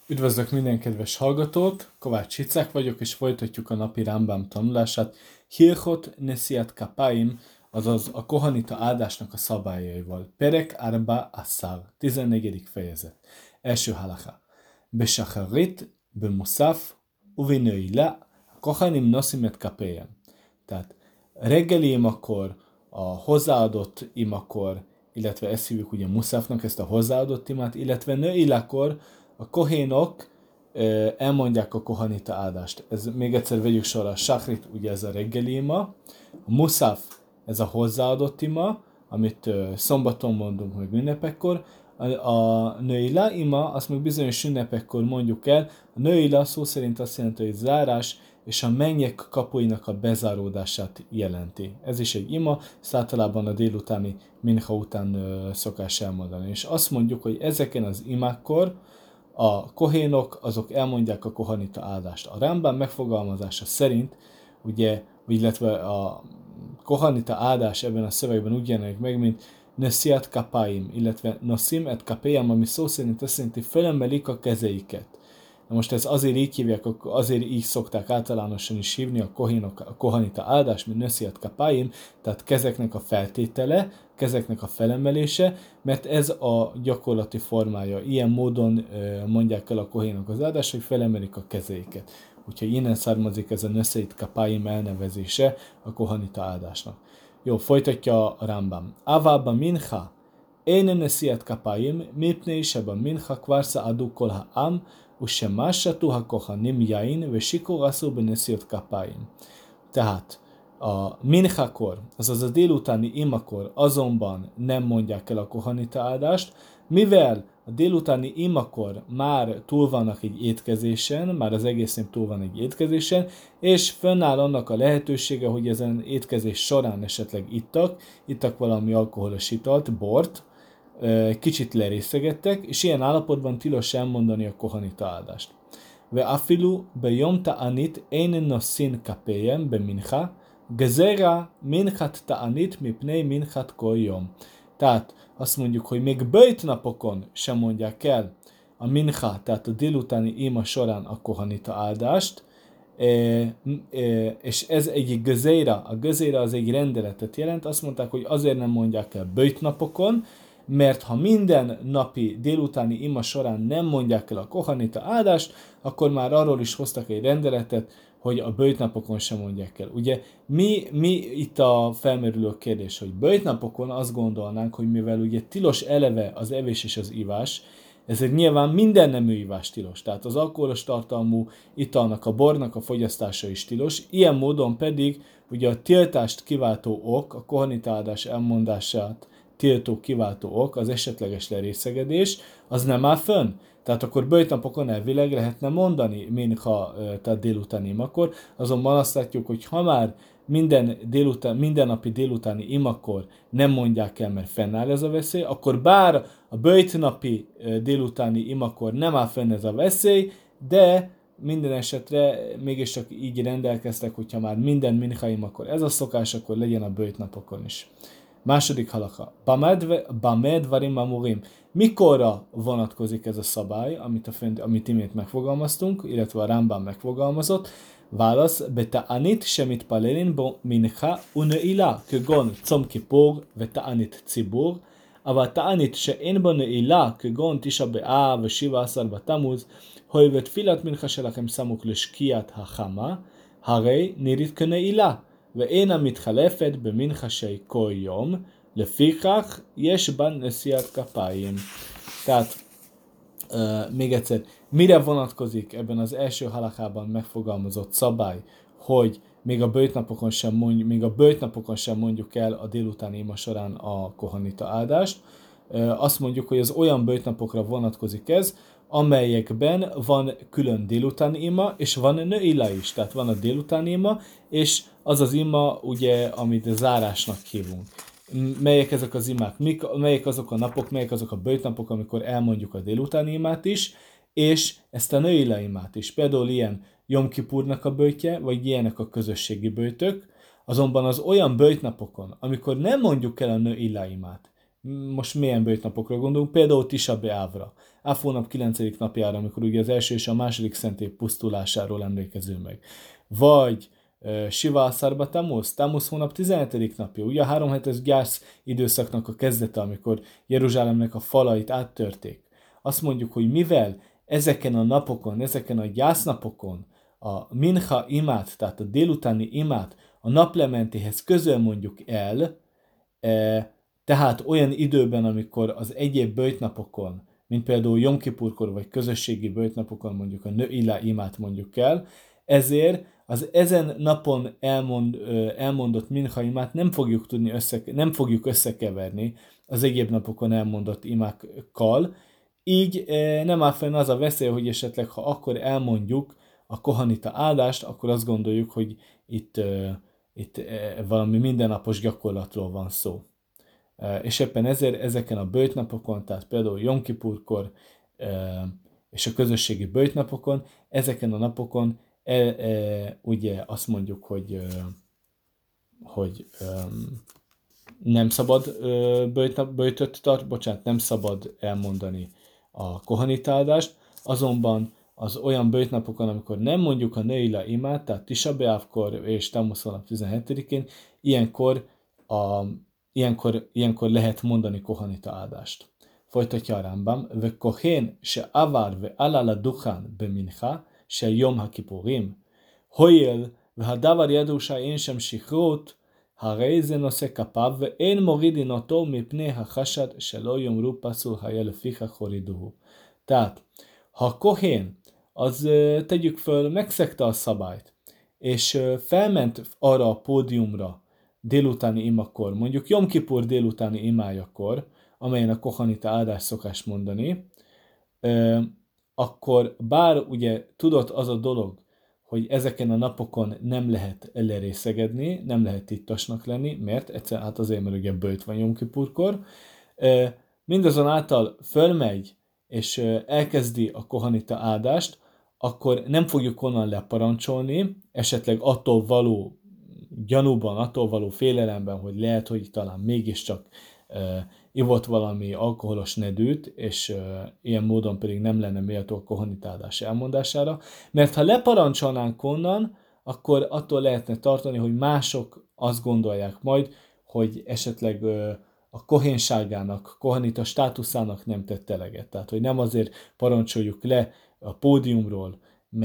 Üdvözlök minden kedves hallgatót, Kovács Icák vagyok, és folytatjuk a napi Rambam tanulását. Hilchot Nesiat Kapaim, azaz a kohanita áldásnak a szabályaival. Perek Arba Assar, 14. fejezet. Első halacha. Beshacharit, bemusaf, uvinőila, kohanim nosim et kapéjem. Tehát reggeli imakor, a hozzáadott imakor, illetve ezt hívjuk ugye muszafnak, ezt a hozzáadott imát, illetve nőilakor, a kohénok elmondják a kohanita áldást. Ez még egyszer vegyük sorra. A sakrit, ugye ez a reggeli ima, a muszaf, ez a hozzáadott ima, amit szombaton mondunk, meg ünnepekkor. A nőila ima, azt még bizonyos ünnepekkor mondjuk el. A nőila szó szerint azt jelenti, hogy zárás, és a mennyek kapuinak a bezáródását jelenti. Ez is egy ima, ezt általában a délutáni mincha után szokás elmondani. És azt mondjuk, hogy ezeken az imákkor a kohénok, azok elmondják a kohanita áldást. A Rambam megfogalmazása szerint, ugye, illetve a kohanita áldás ebben a szövegben úgy jelenik meg, mint nesiat kapaim, illetve nosim et kapéjam, ami szó szerint azt jelenti, fölemelik a kezeiket. Na most ez azért így hívják, azért így szokták általánosan is hívni a kohénok, a kohanita áldás, mint nesiat kapaim, tehát kezeknek a feltétele, kezeknek a felemelése, mert ez a gyakorlati formája. Ilyen módon mondják el a kohénok az áldást, hogy felemelik a kezeiket. Úgyhogy innen származik ez a nesiat kapaim elnevezése a kohanita áldásnak. Jó, folytatja a Rambam. Avaba mincha, én nesiat kapaim, mipnei seba mincha kvarsa adu kol ha'am, ושמשתו הכהנים יין ושיקור עשו בנשיאות כפיים. Tehát a minchakor, azaz a délutáni imakor azonban nem mondják el a kohanita áldást, mivel a délutáni imakor már túl vannak egy étkezésen, már az egész nép túl van egy étkezésen, és fönnáll annak a lehetősége, hogy ezen étkezés során esetleg ittak valami alkoholos italt, bort, kicsit lerészegettek, és ilyen állapotban tilos elmondani a kohanita áldást. Ve afilu bejom ta'anit ein nosin kapéjem be mincha, gezera minchat ta'anit mipnei minchat kol jom. Tehát azt mondjuk, hogy még böjt napokon sem mondják el a mincha, tehát a délutáni ima során a kohanita áldást, és ez egy gezéra, a gezéra az egy rendeletet jelent, azt mondták, hogy azért nem mondják el böjt napokon, mert ha minden napi délutáni ima során nem mondják el a kohanita áldást, akkor már arról is hoztak egy rendeletet, hogy a böjtnapokon sem mondják el. Ugye mi itt a felmerülő kérdés, hogy böjtnapokon azt gondolnánk, hogy mivel ugye tilos eleve az evés és az ivás, ezért nyilván minden nemű ivás tilos. Tehát az alkoholos tartalmú italnak, a bornak a fogyasztása is tilos. Ilyen módon pedig ugye a tiltást kiváltó ok, a kohanita áldás elmondását tiltó kiváltó ok, az esetleges lerészegedés, az nem áll fönn. Tehát akkor böjtnapokon elvileg lehetne mondani, minha, tehát délutáni imakor, azonban azt látjuk, hogy ha már minden napi délutáni imakor nem mondják el, mert fennáll ez a veszély, akkor bár a böjtnapi délutáni imakor nem áll fenn ez a veszély, de minden esetre mégiscsak így rendelkeztek, hogyha már minden minha imakor ez a szokás, akkor legyen a böjtnapokon is. Második halakha. Bamed varim amurim. Mikorra vonatkozik ez a szabály, amit imént megfogalmaztunk, illetve a Rambam megfogalmazott? Válasz. Beta'anit semit palelin bo mincha uneila, כגון צום כיפור ותענית ציבור, אבל תענית שאין בו נעילה, כגון תשעה באב ושבעה עשר בתמוז, הואיל ותפילת מנחה שלכם סמוך לשקיעת החמה, הרי נראית כנעילה. ואין המתחלפת במנחשי כל יום, לפיכך יש בה נשיאת כפיים. Tehát még egyszer, mire vonatkozik ebben az első halakában megfogalmazott szabály, hogy még a böjtnapokon sem mondjuk el a délutáni ima során a kohanita áldást. Azt mondjuk, hogy az olyan böjtnapokra vonatkozik ez, amelyekben van külön délutáni ima, és van nőila is. Tehát van a délutáni ima, és az az ima, ugye, amit zárásnak hívunk. Melyek ezek az imák? Melyek azok a napok, melyek azok a böjtnapok, amikor elmondjuk a délutáni imát is, és ezt a nőila imát is. Például ilyen Jom Kipurnak a böjtje, vagy ilyenek a közösségi böjtök, azonban az olyan böjtnapokon, amikor nem mondjuk el a nőila imát, most milyen böjtnapokra gondolunk, például Tisha B'Ávra. Áv hónap 9. napjára, amikor ugye az első és a második szentély pusztulásáról emlékezünk meg. Vagy Siva Aszarba Tammuz hónap 17. napja, ugye a 3 hetes gyász időszaknak a kezdete, amikor Jeruzsálemnek a falait áttörték. Azt mondjuk, hogy mivel ezeken a napokon, ezeken a gyásznapokon a mincha imát, tehát a délutáni imát a naplementéhez közel mondjuk el, tehát olyan időben, amikor az egyéb böjtnapokon, mint például Jom Kipurkor vagy közösségi böjtnapokon mondjuk a nőila imát mondjuk el, ezért az ezen napon elmondott mincha imát nem fogjuk összekeverni az egyéb napokon elmondott imákkal, így nem áll fenn az a veszély, hogy esetleg ha akkor elmondjuk a kohanita áldást, akkor azt gondoljuk, hogy itt valami mindennapos gyakorlatról van szó. És éppen ezért ezeken a böjtnapokon, tehát például Jom Kipurkor és a közösségi böjtnapokon, ezeken a napokon ugye azt mondjuk, hogy nem szabad nem szabad elmondani a kohanitáldást, azonban az olyan böjtnapokon, amikor nem mondjuk a nőila imát, tehát Tisha B'Avkor és Tammuz hónap 17-én, ilyenkor lehet mondani kohanita áldást. Folytatja a Rambam, ve kohén se avar ve alala duchan be mincha, se yom ha-kipurim, hoyel ve hadavar yadusha én sem shichrut, הרי זה נושא כפיו, ואין מורידין אותו מפני החשד שלא יאמרו פסול היה לפיכך הורידוהו. Tehát, ha a kohén, az tegyük föl, megszegte a szabályt, és felment arra a pódiumra délutáni imakor, mondjuk Jom Kipur délutáni imájakor, amelyen a kohanita áldás szokás mondani, akkor bár ugye tudott az a dolog, hogy ezeken a napokon nem lehet lerészegedni, nem lehet ittasnak lenni, mert egyszerűen azért, mert ugye böjt van Jom Kipurkor, mindazonáltal fölmegy, és elkezdi a kohanita áldást, akkor nem fogjuk onnan leparancsolni, esetleg attól való gyanúban, attól való félelemben, hogy lehet, hogy talán mégiscsak ivott valami alkoholos nedűt, és ilyen módon pedig nem lenne méltó a kohanitálás elmondására, mert ha leparancsolnánk onnan, akkor attól lehetne tartani, hogy mások azt gondolják majd, hogy esetleg a kohénságának, kohanita státuszának nem tett eleget. Tehát, hogy nem azért parancsoljuk le a pódiumról,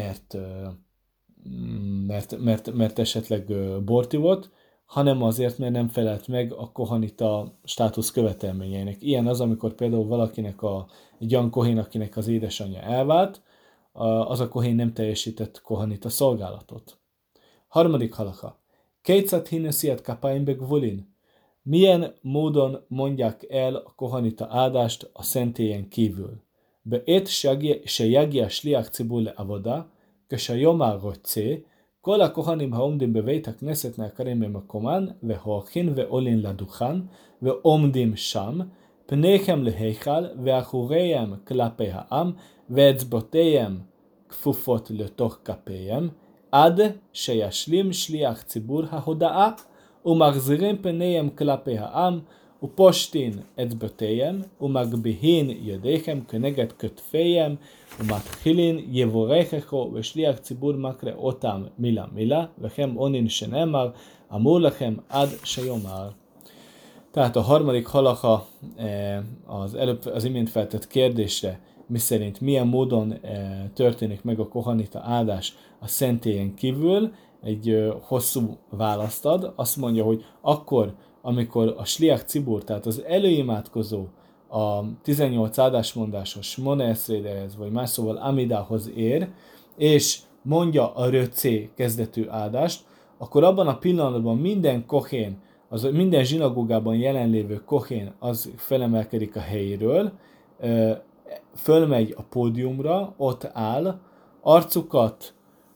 mert esetleg bort ivott, hanem azért, mert nem felelt meg a kohanita státusz követelményeinek. Ilyen az, amikor például valakinek egy olyan kohén, akinek az édesanyja elvált, az a kohén nem teljesített kohanita szolgálatot. Harmadik halakha. Kétszat hinnesziat kapáim begvulin. Milyen módon mondják el a kohanita áldást a szentélyen kívül? Beét se jagia sliach cibur le avoda, כשהיום הרוצה, כל הכהנים העומדים בבית הכנסת נעקרים ממקומן, והולכים ועולים לדוכן, ועומדים שם, פניהם להיכל, ואחוריהם כלפי העם, ואצבעותיהם כפופות לתוך כפיהם, עד שישלים שליח ציבור ההודעה, ומחזירים פניהם כלפי העם, ופושטין אצבעותיהם, ומגביהין ידיהם כנגד כתפיהם, ומתחילין יבורככו ושליח ציבור מקרא אותם מילה מילה, וכם עונין שנאמר, אמור לכם עד שיאמר. Tehát a harmadik halacha az imént feltett kérdésre, miszerint milyen módon történik meg a kohanita áldás a szentélyen kívül, egy hosszú választ ad. Azt mondja, hogy akkor, amikor a sliach cibur, tehát az előimádkozó a 18 áldásmondásos Moneszrédehez, vagy más szóval Amidához ér, és mondja a röcé kezdetű áldást, akkor abban a pillanatban minden kohén, minden zsinagógában jelenlévő kohén az felemelkedik a helyéről, fölmegy a pódiumra, ott áll, arcukat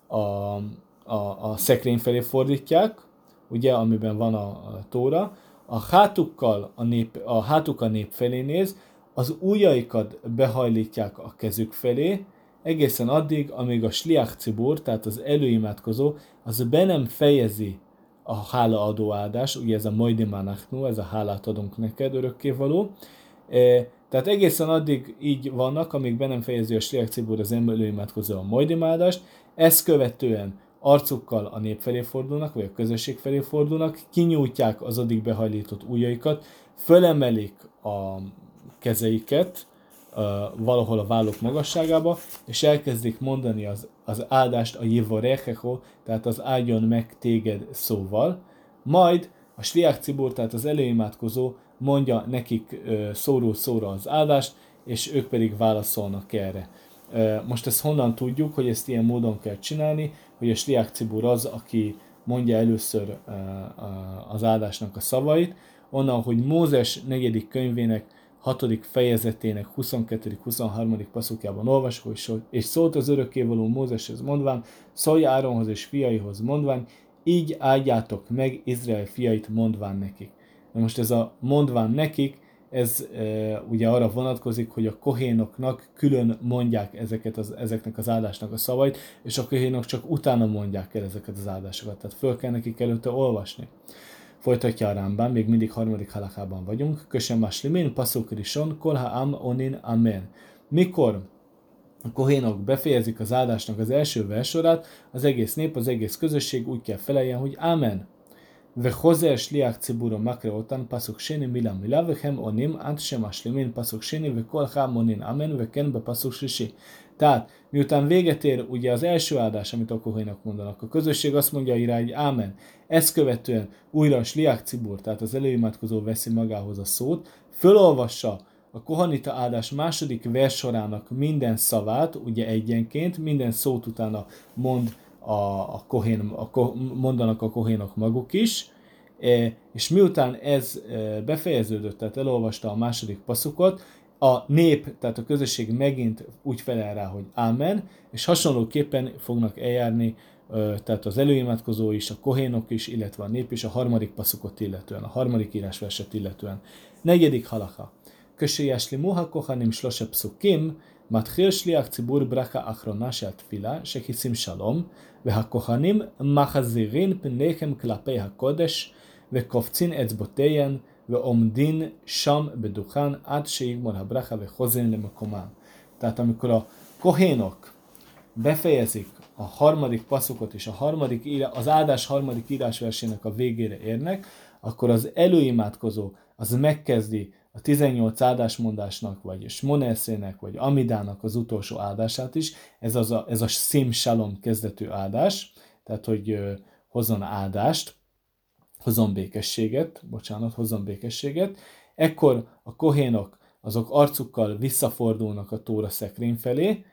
a szekrény felé fordítják, ugye, amiben van a tóra, a hátuk a nép felé néz, az ujjaikat behajlítják a kezük felé, egészen addig, amíg a sliach cibur, tehát az előimádkozó, az be nem fejezi a hálaadó áldás, ugye ez a moidi manachnu, ez a hálát adunk neked örökkévaló, Tehát egészen addig így vannak, amíg be nem fejezi a sliach cibur az előimádkozó a majdimádást, ezt követően arcukkal a nép felé fordulnak, vagy a közösség felé fordulnak, kinyújtják az addig behajlított ujjaikat, fölemelik a kezeiket valahol a válluk magasságába, és elkezdik mondani az áldást a jivarechecho, tehát az áldjon meg téged szóval. Majd a sliach cibur, tehát az előimádkozó mondja nekik szóról szóra az áldást, és ők pedig válaszolnak erre. Most ezt honnan tudjuk, hogy ezt ilyen módon kell csinálni, hogy a sliach cibur az, aki mondja először az áldásnak a szavait, onnan, hogy Mózes 4. könyvének 6. fejezetének 22.-23. passzukjában olvasó, és szólt az örökkévaló Mózeshez mondván, szólj Áronhoz és fiaihoz mondván, így áldjátok meg Izrael fiait mondván nekik. Na most ez a mondván nekik, ez ugye arra vonatkozik, hogy a kohénoknak külön mondják ezeknek az áldásnak a szavait, és a kohénok csak utána mondják el ezeket az áldásokat, tehát föl kell nekik előtte olvasni. Folytatja a Rambam, még mindig 3. halakában vagyunk. Kösem maslimin, pasuk rishon, kol ha'am onin amen. Mikor a kohénok befejezik az áldásnak az első versorát, az egész nép, az egész közösség úgy kell feleljen, hogy amen. וחוזר שליח ציבור ומקרא אותן פסוק שני מילה מילה וכם עונים עד שמשלימין פסוק שני וכל חם עונים אמן וכן בפסוק שלישי. Tehát, miután véget ér ugye az első áldás, amit a kohénok mondanak, a közösség azt mondja rá, hogy ámen. Ezt követően újra a sliach cibur, tehát az előimádkozó veszi magához a szót, fölolvassa a kohanita áldás második versorának minden szavát, ugye egyenként, minden szót utána mond mondanak a kohénok maguk is, és miután ez befejeződött, tehát elolvasta a második passzukot, a nép, tehát a közösség megint úgy felel rá, hogy ámen, és hasonlóképpen fognak eljárni, tehát az előimádkozó is, a kohénok is, illetve a nép is a harmadik passzukot illetően, a harmadik írásverset illetően. 4. halakha. כשישלימו הכהנים 3 פסוקים, מתחיל שליח ציבור ברכה אחרונה של התפילה, שכיסים שלום, והכהנים מחזירים פניהם כלפי הקודש, וקופצין אצבעותיהם, ועומדין שם בדוכן עד שיגמר הברכה וחוזרים למקומם. Tehát amikor a kohénok befejezik a harmadik passzukot és az áldás harmadik írásversének a végére érnek, akkor az előimádkozó az megkezdi a 18 áldásmondásnak, vagy Smonerszének, vagy Amidának az utolsó áldását is. Ez a Sim Shalom kezdetű áldás, tehát hogy hozzon áldást, hozzon békességet. Ekkor a kohénok azok arcukkal visszafordulnak a tóra szekrény felé,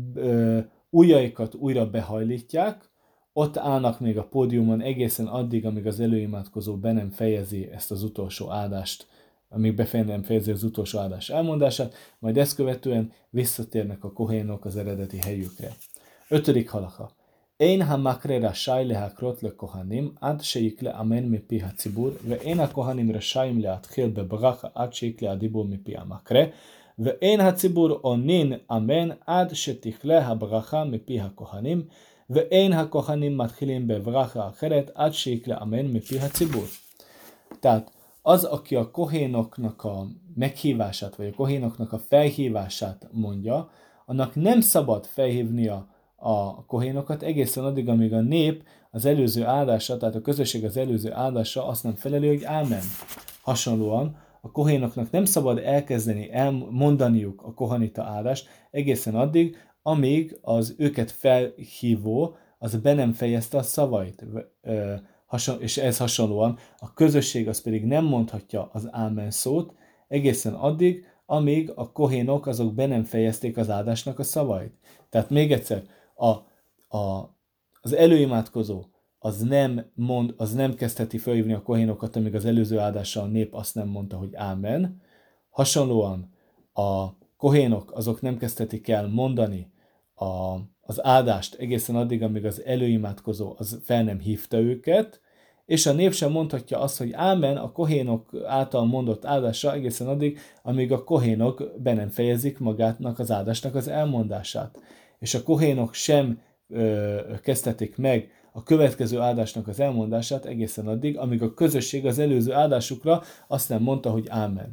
ujjaikat újra behajlítják, ott állnak még a pódiumon egészen addig, amíg az előimádkozó be nem fejezi ezt az utolsó áldást, amíg nem fejezi az utolsó áldás elmondását, majd ezt követően visszatérnek a kohénok az eredeti helyükre. 5. halakha. Ein ha-makre rashay lehakrot le-kohanim ad sheikle amen mipi ha-cibur, ve'ein ha-kohanim rashayim leatchil bebracha ad sheikle adibur mipi ha-makre, ve'ein ha-cibur onin amen ad shetikle ha-bracha mipi ha-kohanim, ve'ein ha-kohanim matchilim bebracha acheret ad sheikle amen mipi ha-cibur. Tehát az, aki a kohénoknak a meghívását, vagy a kohénoknak a felhívását mondja, annak nem szabad felhívnia a kohénokat egészen addig, amíg a nép az előző áldása, tehát a közösség az előző áldása azt nem feleli, hogy ámen. Hasonlóan a kohénoknak nem szabad elkezdeni mondaniuk a kohanita áldást egészen addig, amíg az őket felhívó az be nem fejezte a szavait. És ez hasonlóan a közösség az pedig nem mondhatja az ámen szót egészen addig, amíg a kohénok azok be nem fejezték az áldásnak a szavait. Tehát még egyszer, az előimádkozó az nem kezdheti felhívni a kohénokat, amíg az előző áldással a nép azt nem mondta, hogy ámen. Hasonlóan a kohénok azok nem kezdhetik el mondani az áldást egészen addig, amíg az előimádkozó az fel nem hívta őket, és a nép sem mondhatja azt, hogy ámen a kohénok által mondott áldásra egészen addig, amíg a kohénok be nem fejezik magátnak az áldásnak az elmondását. És a kohénok sem kezdhetik meg a következő áldásnak az elmondását egészen addig, amíg a közösség az előző áldásukra azt nem mondta, hogy ámen.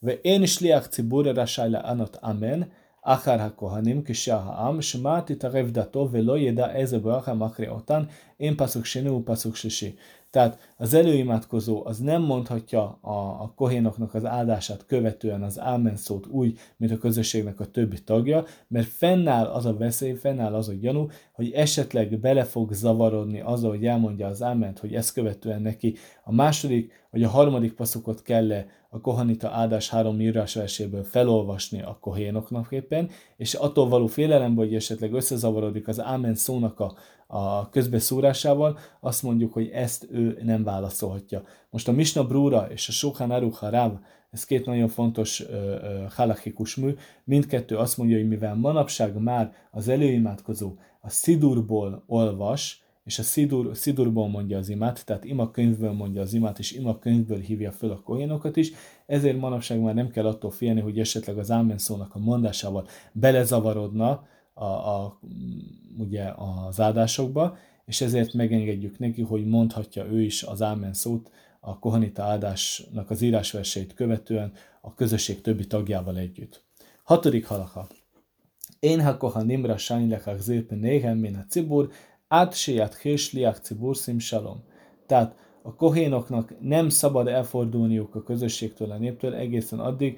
ואין שליח ציבור רשאי לענות אמן אחר הכהנים כשאר העם, שמא תתערב דתו ולא ידע איזה ברכה מקריא אותן, én paszuk sini, paszuk sisi. Tehát az előimádkozó az nem mondhatja a kohénoknak az áldását követően az ámen szót úgy, mint a közösségnek a többi tagja, mert fennáll az a veszély, fennáll az a gyanú, hogy esetleg bele fog zavarodni azzal, hogy elmondja az áment, hogy ezt követően neki a második vagy a harmadik paszukot kell a kohanita áldás 3 írásverséből felolvasni a kohénoknak éppen, és attól való félelemből, hogy esetleg összezavarodik az ámen szónak a közbeszúrásával, azt mondjuk, hogy ezt ő nem válaszolhatja. Most a Misna Brura és a Shulchan Aruch Harav, ez két nagyon fontos halachikus mű, mindkettő azt mondja, hogy mivel manapság már az előimádkozó a szidurból olvas, és a szidurból mondja az imát, tehát imakönyvből mondja az imát, és imakönyvből hívja föl a kohénokat is, ezért manapság már nem kell attól félni, hogy esetleg az ámen szónak a mondásával belezavarodna ugye az áldásokba, és ezért megengedjük neki, hogy mondhatja ő is az ámen szót a kohanita áldásnak az írásverseit követően a közösség többi tagjával együtt. 6. halacha. Én ha kohanim rashayin lechachzir pneihem min hacibur, át sejat hérsliach cibur szim shalom. Tehát a kohénoknak nem szabad elfordulniuk a közösségtől, a néptől egészen addig,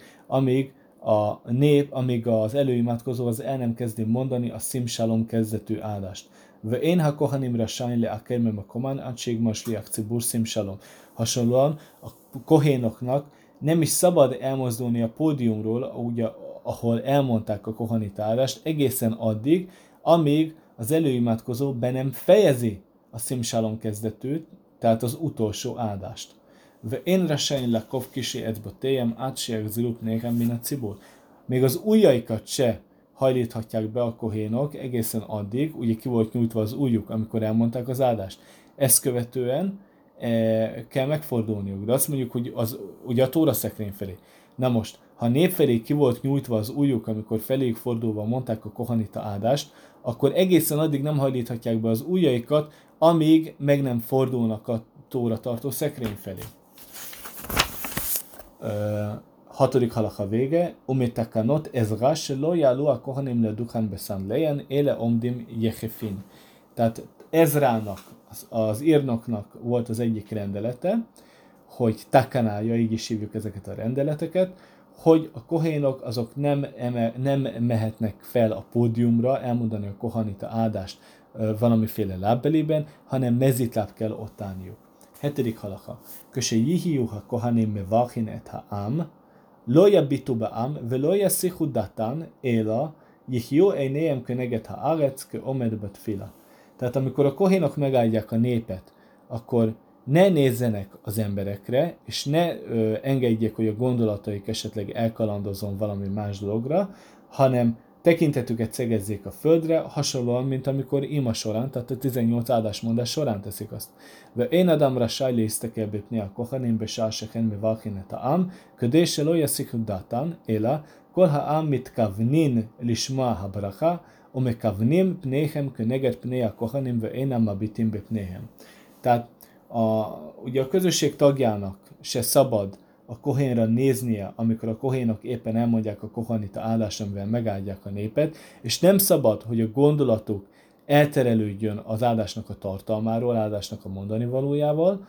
amíg az előimádkozó az el nem kezdi mondani a szim shalom kezdetű áldást. Ve én ha kohanim rashayin le akermem a komán, át sejgma sliach cibur szim shalom. Hasonlóan a kohénoknak nem is szabad elmozdulni a pódiumról, ugye, ahol elmondták a kohanita áldást, egészen addig, amíg az előimádkozó be nem fejezi a szim shalom kezdetűt, tehát az utolsó áldást. Ve én rashayin lakov kisi ecbotéjem át sejak zilup néhem min a cibur. Még az ujjaikat se hajlíthatják be a kohénok egészen addig, ugye ki volt nyújtva az ujjuk, amikor elmondták az áldást. Ezt követően kell megfordulniuk, de azt mondjuk, hogy ugye a tóra szekrény felé. Na most, ha a nép felé ki volt nyújtva az ujjuk, amikor feléjük fordulva mondták a kohanita áldást, akkor egészen addig nem hajlíthatják be az ujjaikat, amíg meg nem fordulnak a tóra tartó szekrény felé. 6. halacha vége. Umitakanot ezra shelo yalu a kohanim leduchan besanlejen éle omdim jechefin. Tehát Ezrának, az írnoknak volt az egyik rendelete, hogy takanája, így is hívjuk ezeket a rendeleteket, hogy a kohénok azok nem mehetnek fel a pódiumra elmondani a kohanita áldást valamiféle lábbelében, hanem mezitláb kell ott állniuk. 7. halacha. Köse jihiu ha kohanim mevachin et ha'am, lo yabitu ba'am, velo yasichu datan, éla, jihiu einejem keneget ha'aretz, ke omed batfila. Tehát amikor a kohénok megáldják a népet, akkor ne nézzenek az emberekre, és ne engedjék, hogy a gondolataik esetleg elkalandozzon valami más dologra, hanem tekintetüket szegezzék a földre, hasonlóan, mint amikor ima során, tehát a 18 áldásmondás során teszik azt. Ve én adamra sajli isztekel bépni a kohanim besáseken mi valkinet a ám, ködése lo yasziku datan, éla, kol ha ám mitkavnin lisma ha bracha, umekavnim pnéhem köneget pné a kohanim, ve én amabitim bepnéhem. Tehát ugye a közösség tagjának se szabad a kohénra néznie, amikor a kohénok éppen elmondják a kohanita áldást, amivel megáldják a népet, és nem szabad, hogy a gondolatuk elterelődjön az áldásnak a tartalmáról, áldásnak a mondani valójával,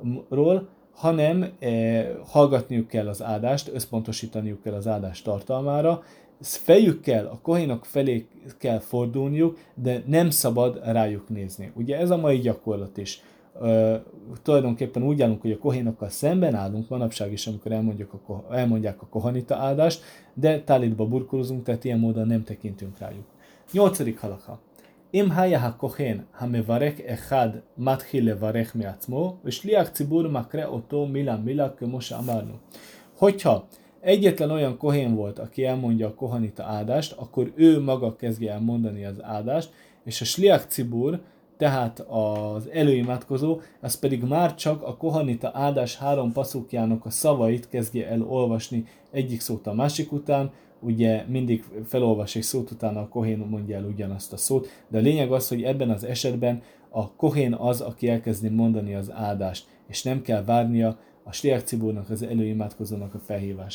hanem hallgatniuk kell az áldást, összpontosítaniuk kell az áldás tartalmára, fejükkel, a kohénok felé kell fordulniuk, de nem szabad rájuk nézni. Ugye ez a mai gyakorlat is. Tulajdonképpen úgy állunk, hogy a kohénokkal szemben állunk manapság is, amikor elmondják a kohanita áldást, de tálitba burkolozunk, tehát ilyen módon nem tekintünk rájuk. 8. halacha. Im haya ha kohen ha mevarek echad mathil levarech miatzmo, és liach cibur makre oto mila כמו שאמרנו. Hogyha egyetlen olyan kohén volt, aki elmondja a kohanita áldást, akkor ő maga kezdje el mondani az áldást, és a sliach cibur, tehát az előimádkozó, az pedig már csak a kohanita áldás 3 passzukjának a szavait kezdje el olvasni egyik szót a másik után, ugye mindig felolvas egy szót, utána a kohén mondja el ugyanazt a szót, de a lényeg az, hogy ebben az esetben a kohén az, aki elkezdi mondani az áldást, és nem kell várnia a sliach ciburnak, az előimádkozónak a felhívására.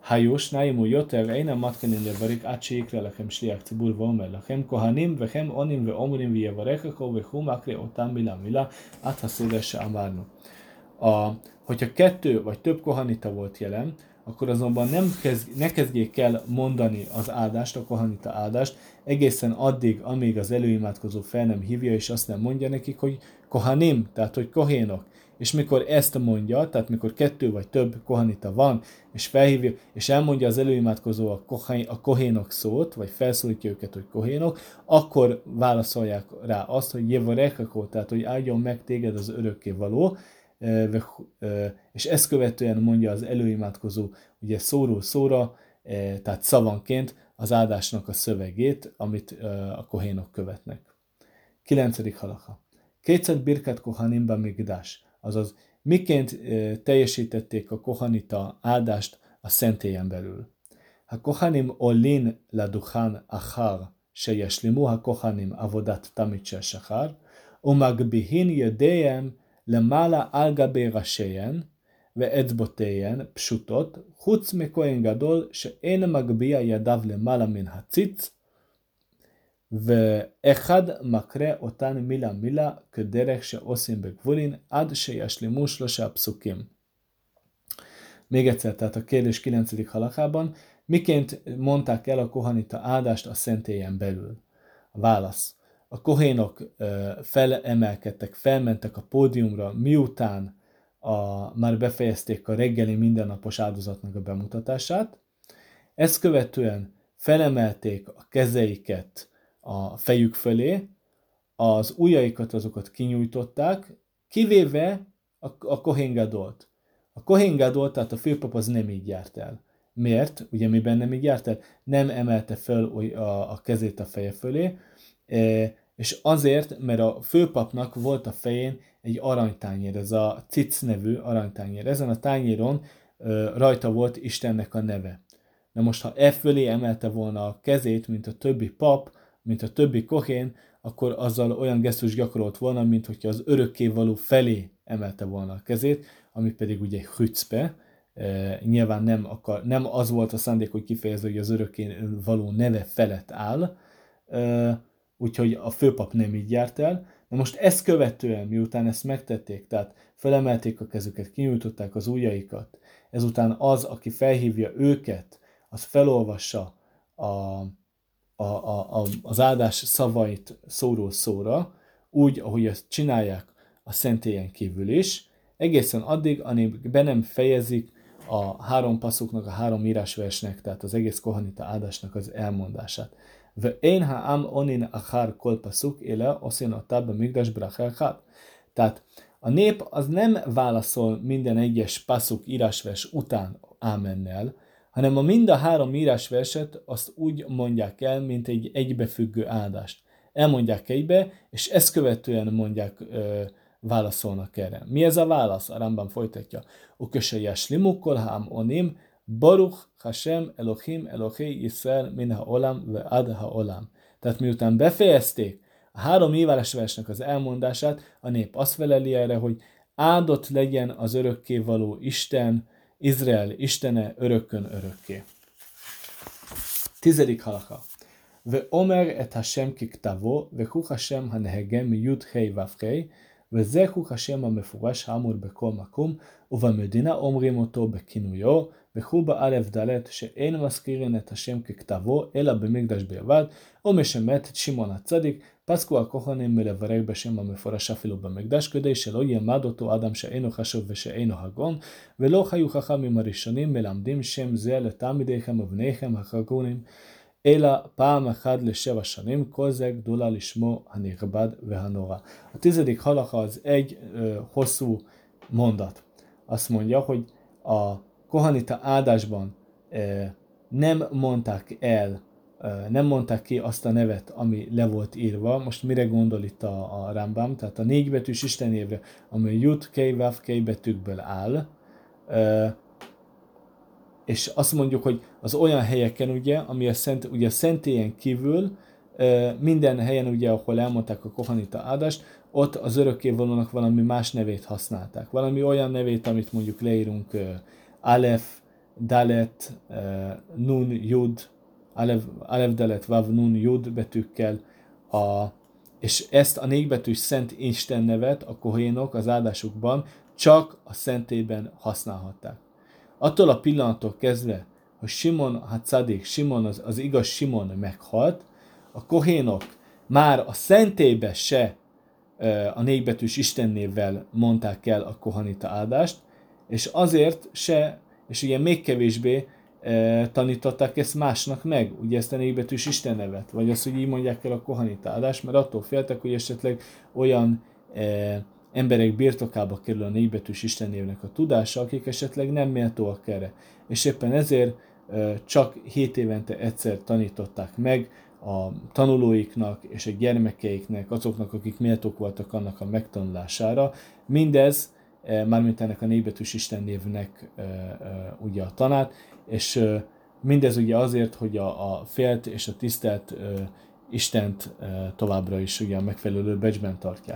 Hajós, náimú joter, én matkenin levarik, átséikre lekem sliák cibur, vomer lekem, kohanim, vechem, onim, ve omrim, vie varekako, ve humakre, otán mila, áthaszédesse amárnu. Hogyha 2 vagy több kohanita volt jelen, akkor azonban ne kezdjék el mondani az áldást, a kohanita áldást, egészen addig, amíg az előimádkozó fel nem hívja, és azt nem mondja nekik, hogy kohanim, tehát hogy kohénok. És mikor ezt mondja, tehát mikor 2 vagy több kohanita van, és felhívja, és elmondja az előimádkozó a kohénok szót, vagy felszólítja őket, hogy kohénok, akkor válaszolják rá azt, hogy jevarekakó, tehát hogy áldjon meg téged az örökkévaló, és ezt követően mondja az előimádkozó ugye szóról szóra, tehát szavanként az áldásnak a szövegét, amit a kohénok követnek. 9. halacha. Kétszer birkat kohanimba migdás, azaz miként teljesítették a kohanita áldást a szentélyen belül. Ha kohanim olin la duchan achar sheyeshlimu ha kohanim avodat tamid shel shachar, umagbihin yedeihem למעלה על גבי ראשיהן ואצבעותיהן פשוטות, חוץ מכהן גדול שאין מגביה ידיו למעלה מן הציץ, ואחד מקרא אותן מילה כדרך שעושים בגבולין, עד שישלימו 3 פסוקים. Még egyszer, tehát a kérdés 9. halakában, miként mondták el a kohanita áldást a szentélyen belül? A válasz. A kohénok felemelkedtek, felmentek a pódiumra, miután már befejezték a reggeli mindennapos áldozatnak a bemutatását. Ezt követően felemelték a kezeiket a fejük fölé, az ujjaikat azokat kinyújtották, kivéve a Kohén Gadolt. A Kohén Gadol, tehát a főpap az nem így járt el. Miért? Ugye miben nem így járt el? Nem emelte fel a kezét a feje fölé, és azért, mert a főpapnak volt a fején egy aranytányér, ez a cic nevű aranytányér. Ezen a tányéron rajta volt Istennek a neve. Na most, ha e fölé emelte volna a kezét, mint a többi pap, mint a többi kohén, akkor azzal olyan gesztus gyakorolt volna, mint hogyha az örökkévaló felé emelte volna a kezét, ami pedig ugye hücpe. Nyilván nem az volt a szándék, hogy kifejezze, hogy az örökkévaló neve felett áll, úgyhogy a főpap nem így járt el. Na most ezt követően, miután ezt megtették, tehát felemelték a kezüket, kinyújtották az ujjaikat, ezután az, aki felhívja őket, az felolvassa az áldás szavait szóról szóra, úgy, ahogy ezt csinálják a szentélyen kívül is, egészen addig, amíg be nem fejezik a 3 passzuknak, a 3 írásversnek, tehát az egész kohanita áldásnak az elmondását. Ve'én ha'am onin achar kol pasuk éle oszén otá bemikdás bracha echad. Tehát a nép az nem válaszol minden egyes passzuk írásvers után ámennel, hanem mind a 3 írásverset azt úgy mondják el, mint egy egybefüggő áldást. Elmondják egybe, és ezt követően válaszolnak erre. Mi ez a válasz? A Rambam folytatja. Uköse yashlimu kol ha'am onim Baruch Hashem Elohim Elohei Yisrael min ha'olam ve'ad ha'olam. Tehát miután befejezték a 3 írásversnek az elmondását, a nép azt feleli erre, hogy áldott legyen az örökkévaló Isten, Izrael Istene örökkön örökké. 10. halakha. Ve'omer et Hashem kiktavo, ve'hu Hashem hanehegem mi yud hei vav hei, וזהו השם המפורש האמור בכל מקום, ובמדינה אומרים אותו בכינויו, וכו באלף ד' שאין מזכירין את השם ככתבו, אלא במקדש בלבד, או משמט את שמעון הצדיק, פסקו הכהנים מלברר בשם המפורש אפילו במקדש, כדי שלא ילמד אותו אדם שאינו חשוב ושאינו הגון, ולא חיו חכמים הראשונים מלמדים שם זה לתלמידיכם ובניכם החגונים, אלא פעם אחת ל7 שנים, כל זה גדולה לשמו הנכבד והנורא. A 10. halacha az egy hosszú mondat. Azt mondja, hogy a kohanita áldásban nem mondták ki azt a nevet, ami le volt írva. Most mire gondol itt a Rambam? Tehát a 4 betűs istenévre, ami Jud, Kei, Vav, Kei betűkből áll, és azt mondjuk, hogy az olyan helyeken, ugye, ami a szentélyen kívül, minden helyen, ugye, ahol elmondták a kohanita áldást, ott az örökkévalónak valami más nevét használták. Valami olyan nevét, amit mondjuk leírunk Alef, Dalet, Nun, Jud, Alev, Dalet, Vav, Nun, Jud betűkkel, és ezt a négbetűs szent Isten nevet a kohénok az áldásukban csak a szentében használhatták. Attól a pillanattól kezdve, hogy Simon Hatzadik, Simon az igaz Simon meghalt, a kohénok már a szentélybe se a négbetűs istennévvel mondták el a kohanita áldást, és azért se, és ugye még kevésbé tanították ezt másnak meg, ugye ezt a négbetűs istennevet, vagy azt, hogy így mondják el a kohanita áldást, mert attól féltek, hogy esetleg olyan emberek birtokába kerül a négbetűs istennévnek a tudása, akik esetleg nem méltóak erre. És éppen ezért csak 7 évente egyszer tanították meg a tanulóiknak és a gyermekeiknek, azoknak, akik méltók voltak annak a megtanulására. Mindez, mármint ennek a négbetűs istennévnek ugye a tanát, és mindez ugye azért, hogy a félt és a tisztelt Istent továbbra is ugye a megfelelő becsben tartják.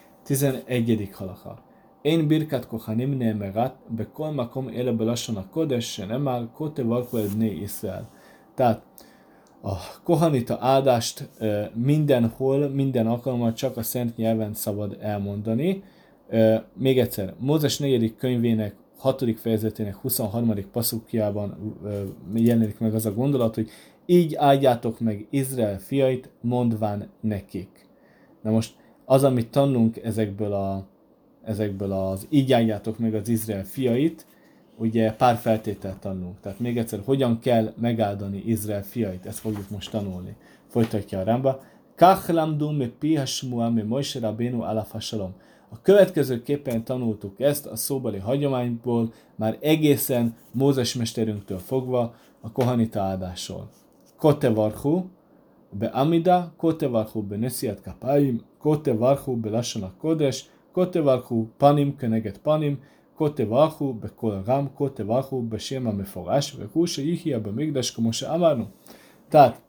11. halakha. Én birkat kohanim neemerat bekol makom ele belasson a kodes, se nem áll, kote valko ebné Iszrael. Tehát a kohanita áldást mindenhol, minden alkalommal csak a szent nyelven szabad elmondani. Még egyszer, Mózes 4. könyvének 6. fejezetének 23. passzukjában jelenik meg az a gondolat, hogy így áldjátok meg Izrael fiait, mondván nekik. Na most az, amit tanulunk ezekből az így áldjátok meg az Izrael fiait, ugye pár feltételt tanulunk. Tehát még egyszer, hogyan kell megáldani Izrael fiait, ezt fogjuk most tanulni. Folytatja a Rámba. Kach lamdu me pi hasmua me Moshe Rabbeinu alaf hashalom. A következőképpen tanultuk ezt a szóbeli hagyományból, már egészen Mózes mesterünktől fogva a kohanita áldásról. Kote varchu be amida, kote varchu be nesiat kapáim, kote varchu be lassan a kodes, kote varchu panim keneget panim, kote varchu be kol ram, kote varchu be séma meforás, ve húsa ihia be migdas, komose amárnu. Tehát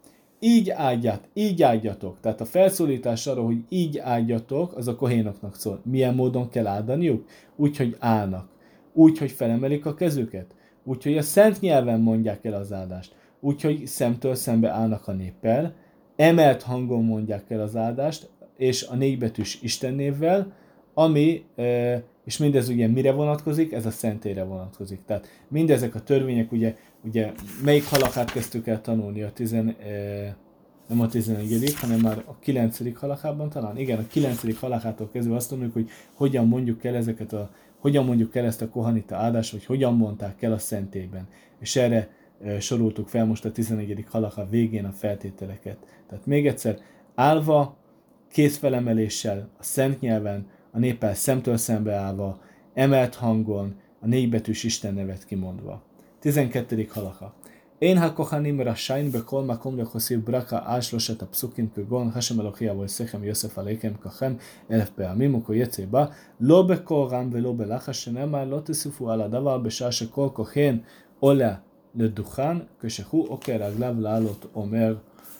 így áldjatok. Tehát a felszólítás arra, hogy így áldjatok, az a kohénoknak szól. Milyen módon kell áldaniuk? Úgy, hogy állnak. Úgy, hogy felemelik a kezüket. Úgy, hogy a szent nyelven mondják el az áldást. Úgy, hogy szemtől szembe állnak a néppel. Emelt hangon mondják el az áldást, és a négybetűs istennévvel, ami, és mindez ugye mire vonatkozik? Ez a szentélyre vonatkozik. Tehát mindezek a törvények, ugye melyik halakát kezdtük el tanulni nem a 11., hanem már a 9. halakában talán? Igen, a 9. halakától kezdve azt tanuljuk, hogy hogyan mondjuk el ezt a kohanita áldást, vagy hogyan mondták el a szentélyben. És erre soroltuk fel most a 11. halaka végén a feltételeket. Tehát még egyszer, állva, kézfelemeléssel, a szent nyelven, a néppel szemtől szembe állva, emelt hangon, a négybetűs Isten nevet kimondva. 12. halaka. Én ha kohanim rashain bekol makom lechoszív braka áslosat a pszukim kögon, hasem elochia vagy szechem Yosef aleikem kachem elef be'amim ukol jecéba, lo bekol ram velo belachas shenemar lo teszufu ala davar בשעה שכל כהן עולה לדוכן כשהוא עוקר רגליו לעלות אומר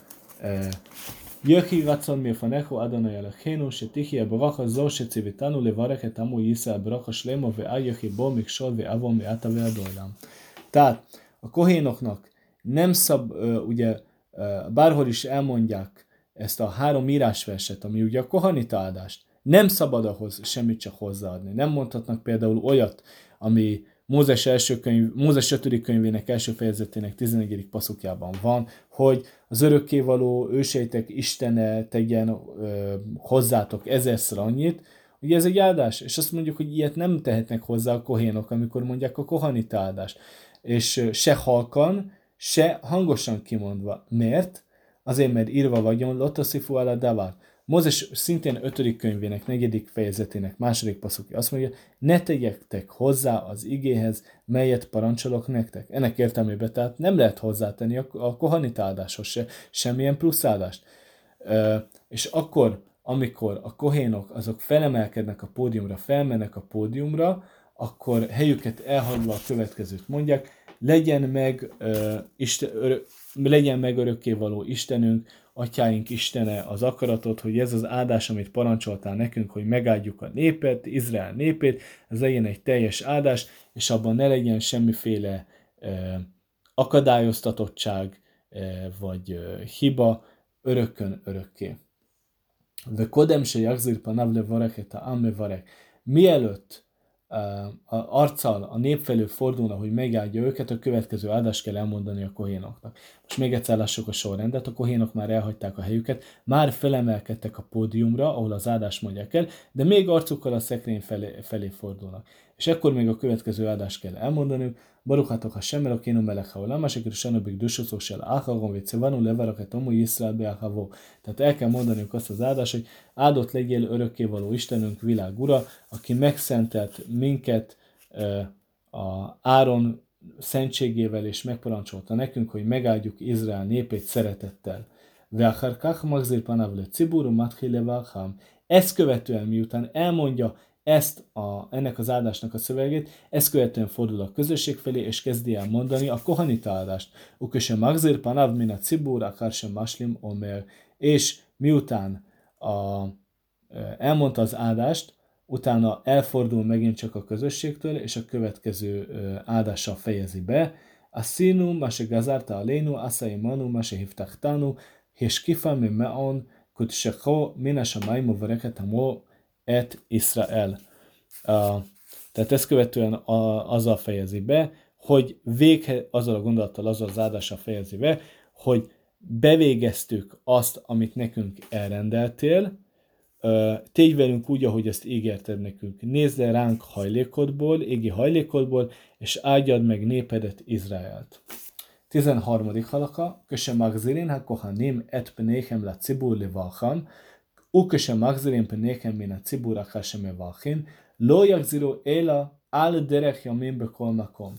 יהי רצון מלפניך אדוני אלוהינו שתחיה ברכה זו שציוויתנו לברך את עמו ישראל ברכה שלמה ואל יחי בו מכשול ועוון מעתה ועד עולם. Tehát a kohénoknak nem ugye bárhol is elmondják ezt a 3 írásverset, ami ugye a kohanita áldást, nem szabad ahhoz semmit csak hozzáadni. Nem mondhatnak például olyat, ami Mózes 5. könyvének első fejezetének 11. passzukjában van, hogy az örökkévaló őseitek Istene tegyen hozzátok 1000-szer annyit. Ugye ez egy áldás, és azt mondjuk, hogy ilyet nem tehetnek hozzá a kohénok, amikor mondják a kohanita áldást. És se halkan, se hangosan kimondva. Miért? Azért, mert írva vagyon, lotoszifu ala davar. Mózes szintén 5. könyvének 4. fejezetének 2. passzukja azt mondja, ne tegyetek hozzá az igéhez, melyet parancsolok nektek. Ennek értelmében tehát nem lehet hozzátenni a kohanita áldáshoz se semmilyen plusz áldást. És akkor, amikor a kohénok azok felemelkednek a pódiumra, felmennek a pódiumra, akkor helyüket elhagyva a következőt mondják, legyen meg örökkévaló Istenünk, atyáink Istene az akaratot, hogy ez az áldás, amit parancsoltál nekünk, hogy megáldjuk a népet, Izrael népét, ez legyen egy teljes áldás, és abban ne legyen semmiféle akadályoztatottság, vagy hiba örökkön örökké. De kodem se jagzir panav levarek et ha'am mevarek. Mielőtt arccal a nép felől fordulna, hogy megáldja őket, a következő áldást kell elmondani a kohénoknak. Most még egyszer lássuk a sorrendet, a kohénok már elhagyták a helyüket, már felemelkedtek a pódiumra, ahol az áldást mondják el, de még arcukkal a szekrény felé fordulnak. És ekkor még a következő áldást kell elmondaniuk, Baruch Hashem Elokeinu melech haolam, asher kirshanu bikdushato shel acharon v'tzivanu levarachet omu Yisrael be'achavo. Tehát el kell mondaniuk azt az áldást, hogy áldott legyél örökkévaló Istenünk, világ ura, aki megszentelt minket a Áron szentségével, és megparancsolta nekünk, hogy megáldjuk Izrael népét szeretettel. Ve'achar kach magzir panav lecibur u'matchil levarcham. Ezt követően, miután elmondja ennek az áldásnak a szövegét, ezt követően fordul a közösség felé, és kezdi el mondani a kohanita áldást. Uköse magzir panav min a cibur akar sem maslim omer. És miután elmondta az áldást, utána elfordul megint csak a közösségtől, és a következő áldással fejezi be. Asinu, mase gazarta alénu, asai manu, mase hivtachtanu, és kifa mi meon, kutsecho, mina samaimu vereket hamo et Israel. Tehát ezt követően azzal fejezi be, hogy azzal a gondolattal, azzal az áldással fejezi be, hogy bevégeztük azt, amit nekünk elrendeltél, tégy velünk úgy, ahogy ezt ígérted nekünk. Nézd le ránk hajlékodból, égi hajlékodból, és áldjad meg népedet, Izraelt. 13. halaka, köse magzirin ha kohanim et pneichem la cibur levalcham, uköse magzirin pneichem min a cibur akar sem mevalchin, lo yagziru éla al derech yamin bekol makom.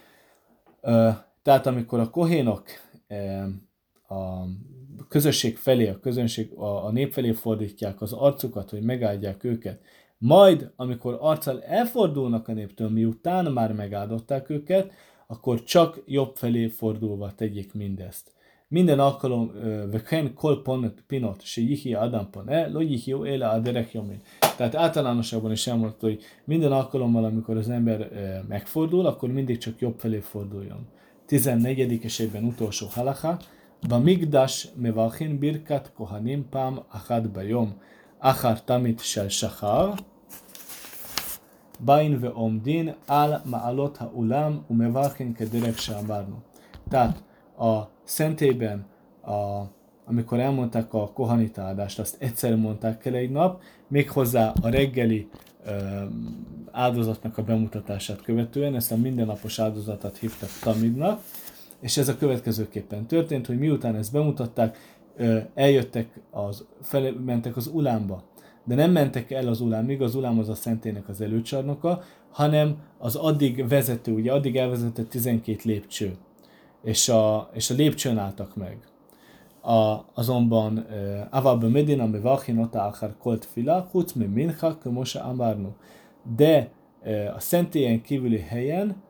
Tehát amikor a kohénok a közösség felé, a nép felé fordítják az arcukat, hogy megáldják őket, majd, amikor arccal elfordulnak a néptől, miután már megáldották őket, akkor csak jobb felé fordulva tegyék mindezt. Minden alkalom, veken kol pinot, se jihi adam pone, lo jihi éle a derek jomin. Tehát általánosabban is elmondta, hogy minden alkalommal, amikor az ember megfordul, akkor mindig csak jobb felé forduljon. 14. és egyben utolsó halacha, במקדש מברכים ברכת כהנים פעם אחת ביום, אחר תמית של שחר, באים ועומדים על מעלות האולם ומברכים כדרך שאמרנו. Tehát a szentélyben, amikor elmondták a kohanita áldást, azt egyszer mondták el egy nap, méghozzá a reggeli áldozatnak a bemutatását követően, ezt a mindennapos áldozatot hívtak tamidnak, és ez a következőképpen történt, hogy miután ezt bemutatták, eljöttek, mentek az ulámba. De nem mentek el az ulámig, az ulám az a szentélynek az előcsarnoka, hanem az addig vezető, ugye addig elvezetett 12 lépcső. És a lépcsőn álltak meg. Azonban Avab Medina Mevachinota Akar Kolt Fila, Hutz me Mincha, Kömosa Amarnu. De a szentélyen kívüli helyen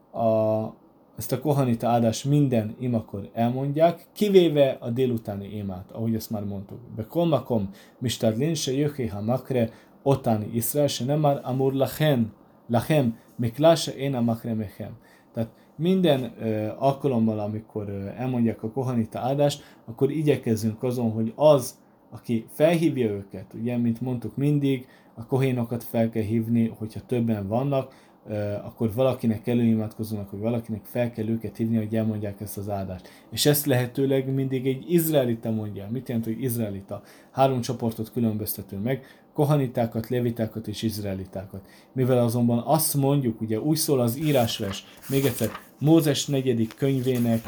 ezt a kohanita áldás minden imakor elmondják, kivéve a délutáni imát, ahogy ezt már mondtuk. Bekolmakom, mistadlin se jöjjé ha makre, otáni Iszrael, se nem már amur lachem, miklása én a makre mechem. Tehát minden alkalommal, amikor elmondják a kohanita áldást, akkor igyekezzünk azon, hogy az, aki felhívja őket, ugye, mint mondtuk mindig, a kohénokat fel kell hívni, hogyha többen vannak, akkor valakinek előimádkozónak, hogy valakinek fel kell őket hívni, hogy elmondják ezt az áldást. És ezt lehetőleg mindig egy izraelita mondja. Mit jelent, hogy izraelita? 3 csoportot különböztetünk meg, kohanitákat, levitákat és izraelitákat. Mivel azonban azt mondjuk, ugye úgy szól az írásvers, még egyszer, Mózes 4. könyvének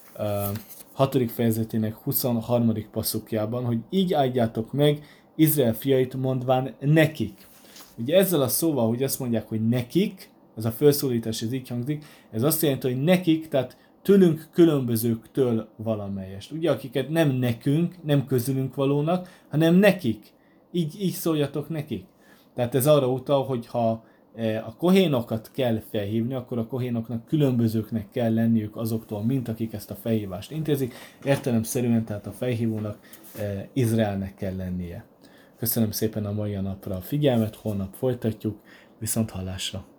6. fejezetének 23. passzukjában, hogy így áldjátok meg Izrael fiait, mondván nekik. Ugye ezzel a szóval, hogy azt mondják, hogy nekik, ez a felszólítás, ez így hangzik, ez azt jelenti, hogy nekik, tehát tőlünk különbözőktől valamelyest. Ugye, akiket nem nekünk, nem közülünk valónak, hanem nekik. Így szóljatok nekik. Tehát ez arra utal, hogy ha a kohénokat kell felhívni, akkor a kohénoknak különbözőknek kell lenniük azoktól, mint akik ezt a felhívást intézik. Értelemszerűen, tehát a felhívónak Izraelnek kell lennie. Köszönöm szépen a mai napra a figyelmet, holnap folytatjuk, viszont hallásra!